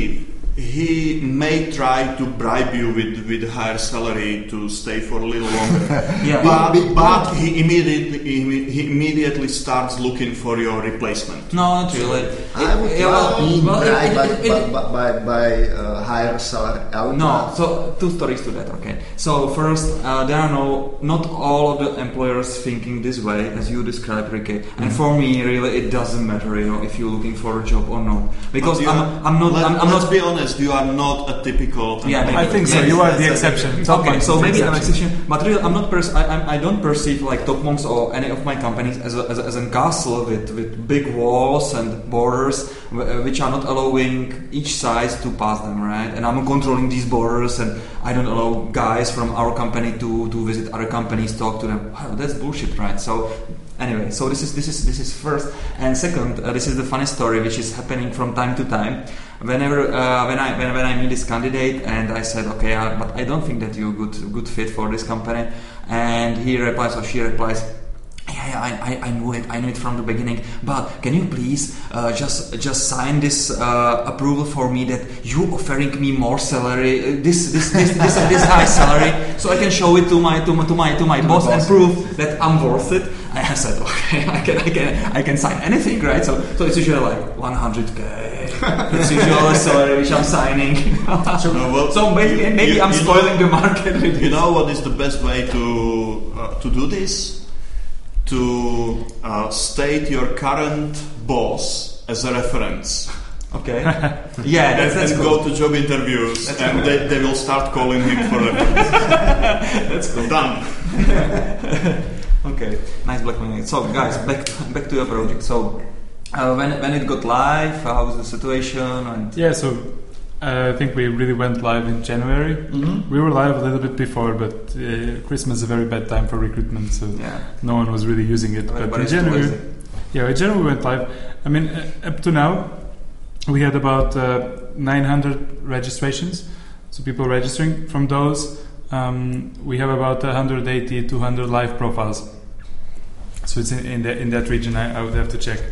he may try to bribe you with higher salary to stay for a little longer. Yeah. But he immediately starts looking for your replacement. No, not really. I would be bribed by higher salary. No, so two stories to that, okay. So first, there are not all of the employers thinking this way as you described, Ricky. And for me, really, it doesn't matter, if you're looking for a job or not, because I'm not. Let's be honest. You are not a typical. Yeah, I think so. You are the exception. Okay, so maybe I'm an exception, but really, I'm not. I don't perceive like Topmonks or any of my companies as a castle with big walls and borders, which are not allowing each side to pass them, right? And I'm controlling these borders, and I don't allow guys from our company to visit other companies, talk to them. Wow, that's bullshit, right? So anyway, so this is first, and second, this is the funny story which is happening from time to time. Whenever when I meet this candidate and I said, okay, but I don't think that you're good fit for this company, and he replies or she replies, yeah, I knew it from the beginning. But can you please just sign this approval for me that you offering me more salary, this high salary, so I can show it to my boss and prove that I'm worth it. I said, okay, I can sign anything, right? So it's usually like 100K. It's usually a salary which I'm signing. So maybe I'm spoiling the market. You know what is the best way to do this? To state your current boss as a reference. Okay. Yeah, that's and cool. go to job interviews, and they will start calling him for reference. That's cool. Done. Okay, nice blackmailing. So, guys, back to your project. So, when it got live, how was the situation? And so I think we really went live in January. Mm-hmm. We were live a little bit before, but Christmas is a very bad time for recruitment, so no one was really using it. But in January, we went live. I mean, up to now, we had about 900 registrations, so people registering. From those, we have about 180, 200 live profiles. So it's in that region. I would have to check.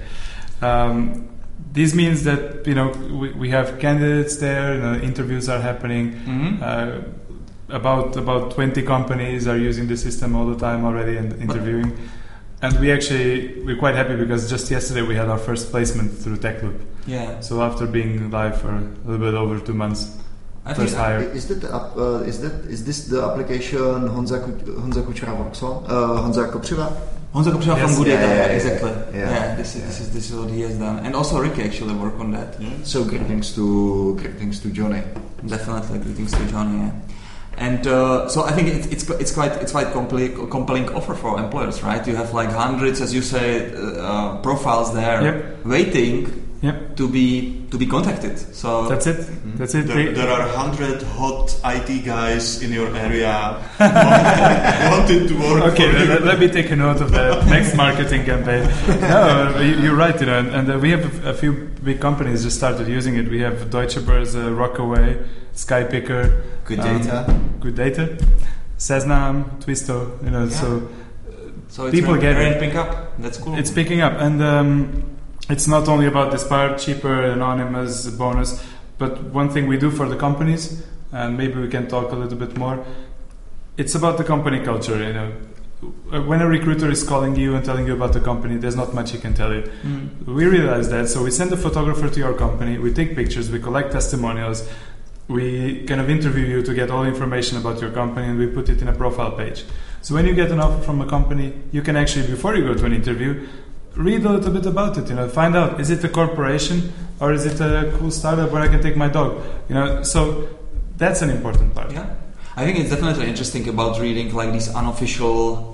This means that we have candidates there. Interviews are happening. Mm-hmm. About 20 companies are using the system all the time already and interviewing. And we're quite happy because just yesterday we had our first placement through TechLoop. Yeah. So after being live for a little bit over 2 months, first hire. Is this the application Honza Kuchera works on? Honza Kopřiva? Honza Kopřiva from Good Data, exactly. Yeah. This is what he has done, and also Ricky actually worked on that. Yeah. So greetings to Johnny. Definitely greetings to Johnny. Yeah. And so I think it's quite compelling offer for employers, right? You have like hundreds, as you say, profiles there waiting to be contacted. So that's it. That's it. There are 100 hot IT guys in your area wanting to work. Okay, for you. let me take a note of that next marketing campaign. No, you're right. And we have a few big companies just started using it. We have Deutsche Börse, Rockaway, Skypicker, Good Data, Seznam, Twisto. So it's people get ramping up. That's cool. It's picking up, and it's not only about this part, cheaper, anonymous, bonus, but one thing we do for the companies, and maybe we can talk a little bit more. It's about the company culture. When a recruiter is calling you and telling you about the company, there's not much he can tell you. We realize that, so we send a photographer to your company. We take pictures, we collect testimonials. We kind of interview you to get all information about your company, and we put it in a profile page. So when you get an offer from a company, you can actually, before you go to an interview, read a little bit about it. Find out, is it a corporation or is it a cool startup where I can take my dog? So that's an important part. Yeah, I think it's definitely interesting about reading like these unofficial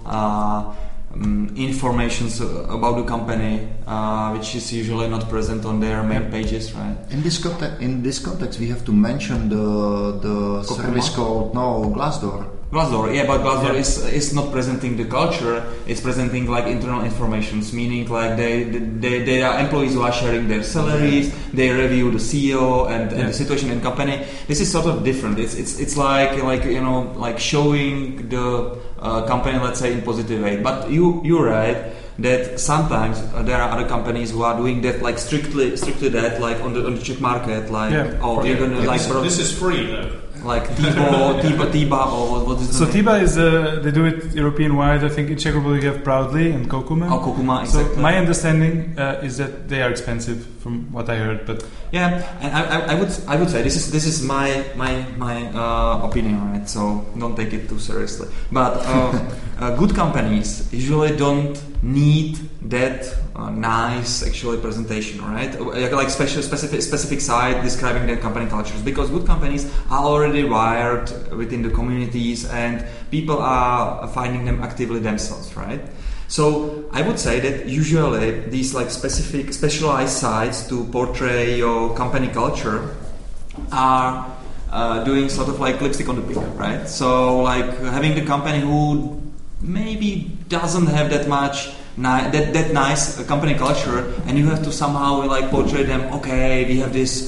informations about the company, which is usually not present on their main pages, right? In this context, we have to mention the service called Glassdoor. Glassdoor, but Glassdoor is not presenting the culture. It's presenting like internal informations, meaning like they are employees who are sharing their salaries. They review the CEO and the situation in company. This is sort of different. It's like showing the company, let's say, in positive way. But you're right. that sometimes there are other companies who are doing that like strictly that like on the Czech market like you're gonna like this is free though. Like Tiba, or what is the So name? Tiba is they do it European wide. I think in Czech Republic you have Proudly and Kokuma. Oh, Kokuma, exactly. So my understanding is that they are expensive, from what I heard. But yeah, and I would say this is my opinion, right? So don't take it too seriously. But good companies usually don't need that nice actually presentation, right? Like specific site describing their company cultures, because good companies are already wired within the communities and people are finding them actively themselves, right? So I would say that usually these like specialized sites to portray your company culture are doing sort of like lipstick on the pig, right? So like having the company who maybe doesn't have that much that nice company culture, and you have to somehow like portray them. Okay, we have this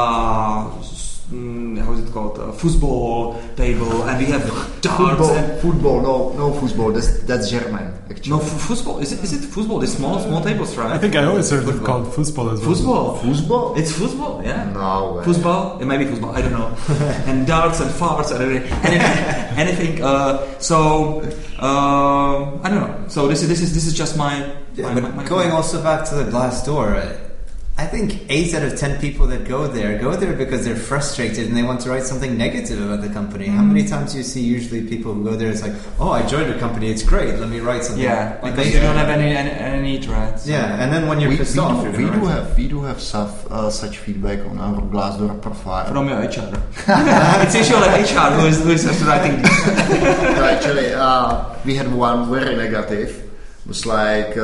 how is it called? Football table, and we have darts. Football, no football. That's German. Actually. No, football. Is it football? The small tables, right? I think I always heard it called football as well. Football? It's football, yeah. No way. Football? It may be football. I don't know. And darts and farts and anything. So I don't know. So this is just my. But going also back to the Glassdoor. I think 8 out of 10 people that go there because they're frustrated and they want to write something negative about the company. How many times do you see usually people who go there, it's like, oh, I joined a company, it's great, let me write something. Yeah, because you don't have any need, right? So. Yeah, and then when you're pissed off, we do have such feedback on our Glassdoor profile. From your HR. It's usually like HR who is writing this. No, actually, we had one very negative. It was like...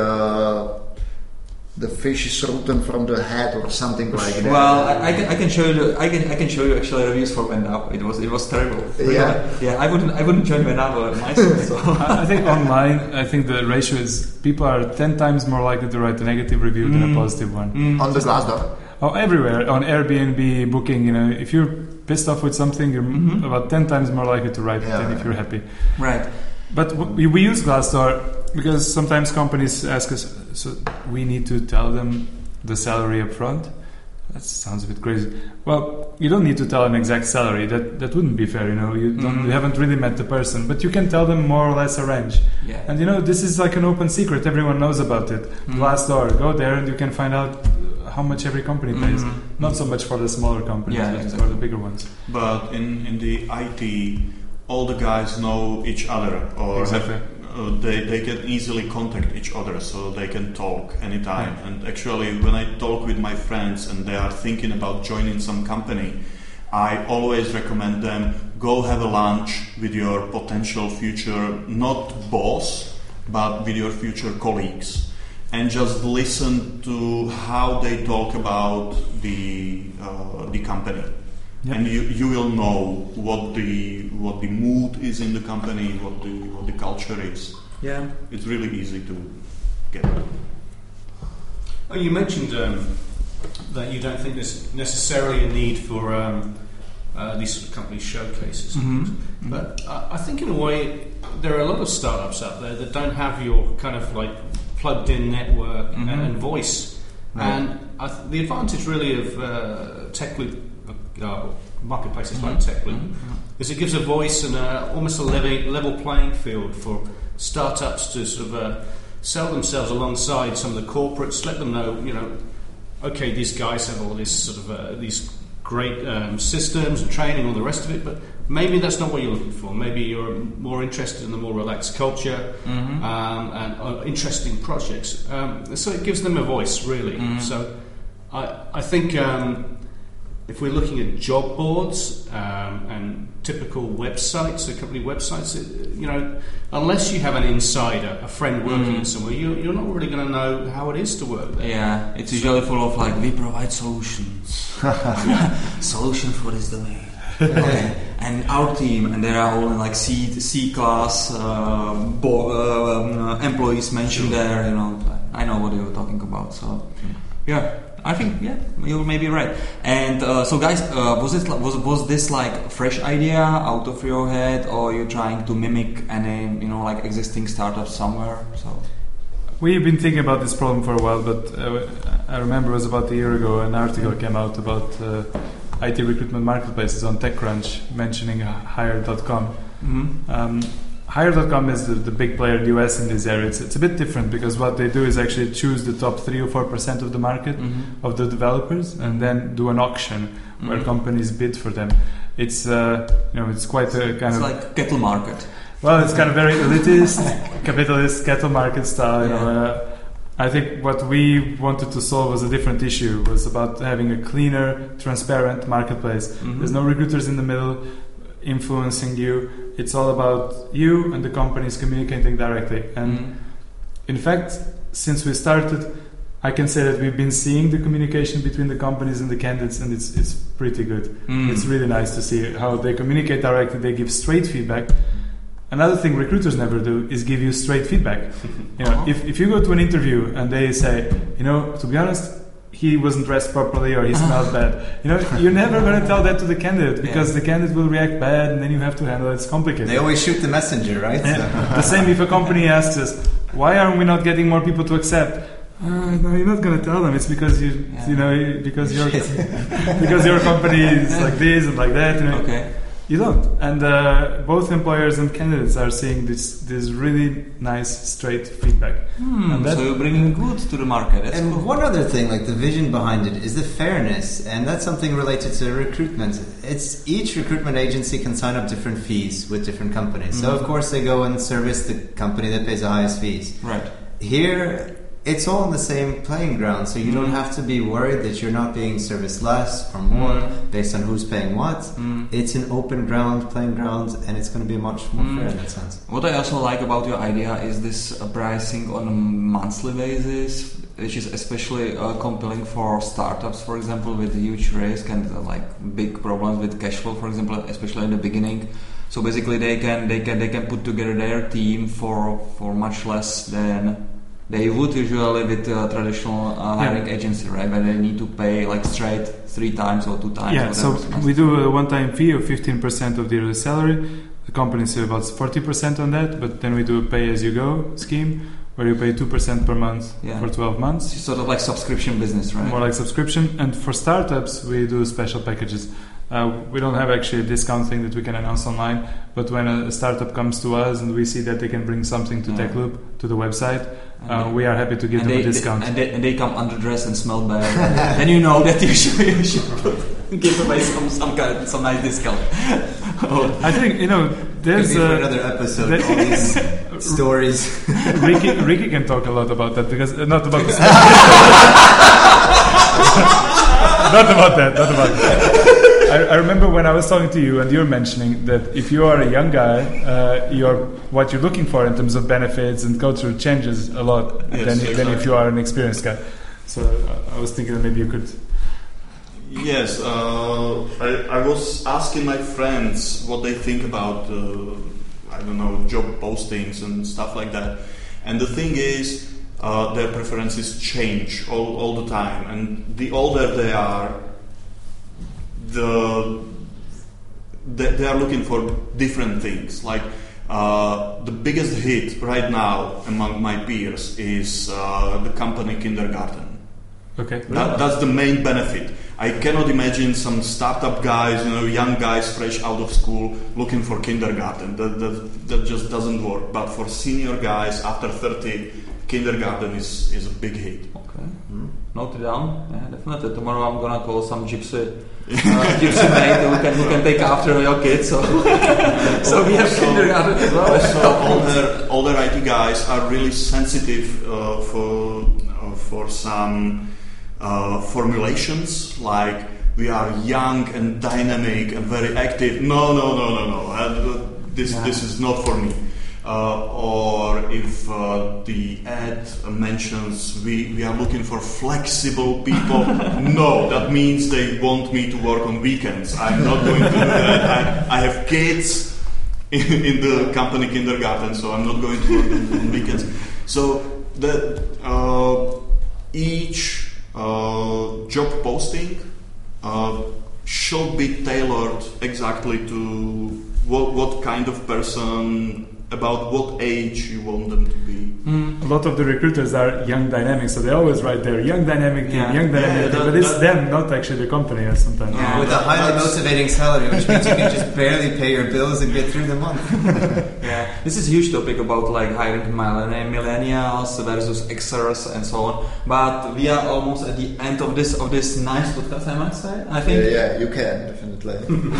the fish is rotten from the head or something like that. Well, I can show you. I can show you actually reviews for Vendap. It was terrible. Yeah. I wouldn't join Vendap myself. So. I think online, I think the ratio is people are 10 times more likely to write a negative review than a positive one. On the Glassdoor. Oh, everywhere on Airbnb, Booking. You know, if you're pissed off with something, you're about 10 times more likely to write it than if you're happy. Right. But we use Glassdoor because sometimes companies ask us, so we need to tell them the salary up front. That sounds a bit crazy. Well, you don't need to tell an exact salary. That wouldn't be fair, you know. You haven't really met the person, but you can tell them more or less a range. Yeah. And you know, this is like an open secret. Everyone knows about it. Glassdoor, go there and you can find out how much every company pays. Not so much for the smaller companies, but for the bigger ones. But in the IT, all the guys know each other, or they can easily contact each other, so they can talk anytime. Yeah. And actually, when I talk with my friends and they are thinking about joining some company, I always recommend them go have a lunch with your potential future, not boss, but with your future colleagues, and just listen to how they talk about the company. Yep. And you will know what the mood is in the company, what the culture is. Yeah, it's really easy to get it. Oh, you mentioned that you don't think there's necessarily a need for these sort of company showcases, but I think in a way there are a lot of startups out there that don't have your kind of like plugged-in network and voice, and the advantage really of TechLoop. Marketplaces like TechLoop is it gives a voice and almost a level playing field for startups to sort of sell themselves alongside some of the corporates, let them know, you know, okay, these guys have all this sort of these great systems and training, all the rest of it, but maybe that's not what you're looking for. Maybe you're more interested in the more relaxed culture and interesting projects. So it gives them a voice, really. So I think if we're looking at job boards and typical websites, so company websites, you know, unless you have an insider, a friend working somewhere, you're not really going to know how it is to work there. Yeah, it's usually full of like, we provide solutions. Solution for this domain. Okay. And our team, and there are only like C-class employees mentioned there, you know. I know what you're talking about, so yeah. I think you may be right. And so, guys, was this like fresh idea out of your head, or you're trying to mimic any like existing startup somewhere? So we've been thinking about this problem for a while, but I remember it was about a year ago an article came out about IT recruitment marketplaces on TechCrunch mentioning Hire.com. Hire.com is the big player in the US in this area. It's a bit different because what they do is actually choose the top 3 or 4% of the market of the developers and then do an auction where companies bid for them. It's it's quite a kind of like cattle market. Well, it's kind of very elitist, capitalist cattle market style. You know, I think what we wanted to solve was a different issue. It was about having a cleaner, transparent marketplace. There's no recruiters in the middle influencing you. It's all about you and the companies communicating directly. And in fact, since we started, I can say that we've been seeing the communication between the companies and the candidates, and it's pretty good. It's really nice to see how they communicate directly. They give straight feedback. Another thing recruiters never do is give you straight feedback. If you go to an interview and they say, to be honest, he wasn't dressed properly or he smelled bad, you're never going to tell that to the candidate because the candidate will react bad and then you have to handle it. It's complicated. They always shoot the messenger, right? The same if a company asks us, why are we not getting more people to accept? No, you're not going to tell them. It's because because your company is like this and like that. Okay. You don't. And both employers and candidates are seeing this really nice, straight feedback. So you're bringing good to the market. That's and cool. one other thing, like the vision behind it, is the fairness. And that's something related to recruitment. It's each recruitment agency can sign up different fees with different companies. So, of course, they go and service the company that pays the highest fees. Right. Here, it's all on the same playing ground, so you don't have to be worried that you're not being serviced less or more based on who's paying what. It's an open playing ground, and it's going to be much more fair in that sense. What I also like about your idea is this pricing on a monthly basis, which is especially compelling for startups, for example, with huge risk and big problems with cash flow, for example, especially in the beginning. So basically, they can put together their team for much less than they would usually with traditional hiring agency, right? Where they need to pay straight 3 times or 2 times. Yeah, so we do a one-time fee of 15% of the yearly salary. The company saves about 40% on that, but then we do a pay-as-you-go scheme where you pay 2% per month for 12 months. It's sort of like subscription business, right? More like subscription. And for startups, we do special packages. We don't have actually a discount thing that we can announce online, but when a startup comes to us and we see that they can bring something to TechLoop, to the website, we are happy to give them a discount. And they come underdressed and smell bad. Then you know that you should give away some nice discount. I think there's for another episode. All these stories. Ricky can talk a lot about that because not about the not about that. I remember when I was talking to you and you were mentioning that if you are a young guy, what you're looking for in terms of benefits and culture changes a lot than if you are an experienced guy. So I was thinking that maybe you could... Yes, I was asking my friends what they think about, job postings and stuff like that. And the thing is, their preferences change all the time. And the older they are, they are looking for different things. Like the biggest hit right now among my peers is the company kindergarten. Okay. That's the main benefit. I cannot imagine some startup guys, young guys fresh out of school looking for kindergarten. That just doesn't work. But for senior guys after 30, kindergarten is a big hit. Okay. Note it down. Yeah, definitely. Tomorrow I'm gonna call some gypsy mate who can take after your kids. So we have kindergarten as well. Also, older IT guys are really sensitive for some formulations like we are young and dynamic and very active. No. This is not for me. Or if the ad mentions we are looking for flexible people, no, that means they want me to work on weekends. I'm not going to do that. I have kids in the company kindergarten, so I'm not going to work on weekends. So each job posting should be tailored exactly to what kind of person, about what age you want them to be. lot of the recruiters are young dynamic, so they always write there young dynamic team, young dynamic team, but it's them, not actually the company or sometimes. Yeah, with a highly motivating salary, which means you can just barely pay your bills and get through the month. Yeah, this is a huge topic about like hiring millennials versus Xers and so on. But we are almost at the end of this nice podcast, I might say. I think. Yeah, you can definitely.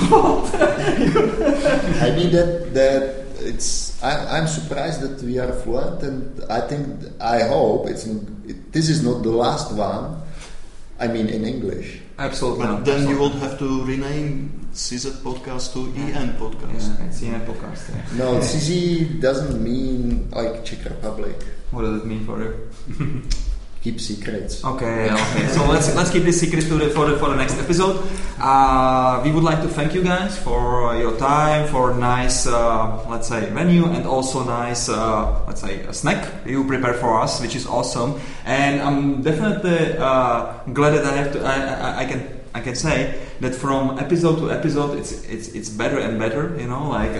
I mean that it's. I'm surprised that we are fluent, and I hope this is not the last one. I mean, in English. Absolutely. But then you would have to rename CZ Podcast to EN Podcast. Yeah, it's EN Podcast. Yeah. No, CZ doesn't mean like Czech Republic. What does it mean for you? Keep secrets. Okay. So let's keep this secret for the next episode. We would like to thank you guys for your time, for nice let's say venue, and also nice let's say a snack you prepare for us, which is awesome. And I'm definitely glad that I can say that from episode to episode it's better and better. You know, like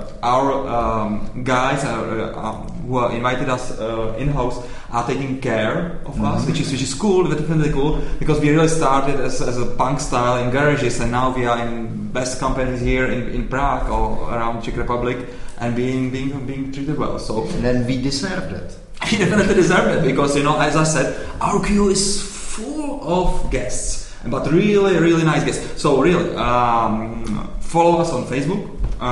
our guys who invited us in house are taking care of us, which is cool, definitely cool, because we really started as a punk style in garages, and now we are in best companies here in Prague or around Czech Republic, and being treated well. So and then we deserve that. We definitely deserve it, because as I said, our queue is full of guests, but really, really nice guests. So really, follow us on Facebook.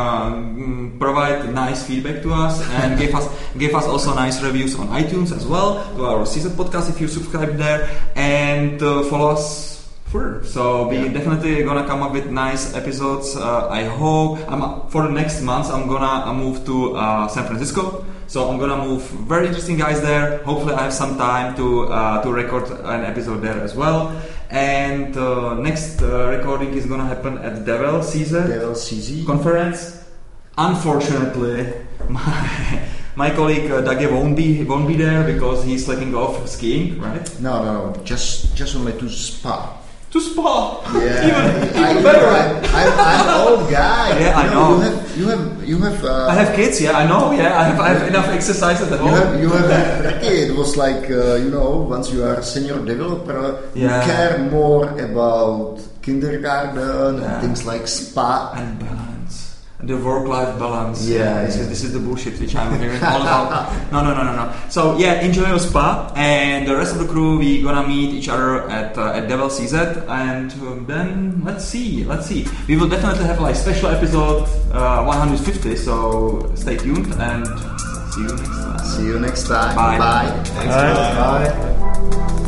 Provide nice feedback to us, and give us also nice reviews on iTunes as well, to our CZ Podcast if you subscribe there, and follow us further. So we definitely gonna come up with nice episodes. I hope for the next month I'm gonna move to San Francisco. So I'm gonna move very interesting guys there. Hopefully I have some time to record an episode there as well. And next recording is gonna happen at Devil CZ conference. Unfortunately, my colleague Dage won't be there because he's letting off skiing, right? No. Just only to Spa. To Spa. Yeah, even better. I'm an old guy. Yeah, I know. You have. I have kids. Yeah, I know. Yeah, I have enough exercise at home. You have Ricky. It was like once you are a senior developer, you care more about kindergarten and things like Spa and balance. The work-life balance. Yeah, This is the bullshit which I'm hearing all about. No. So enjoy your Spa, and the rest of the crew, we gonna meet each other at Devil CZ, and then let's see. We will definitely have like special episode 150. So stay tuned, and see you next time. See you next time. Bye. Thanks, Bye.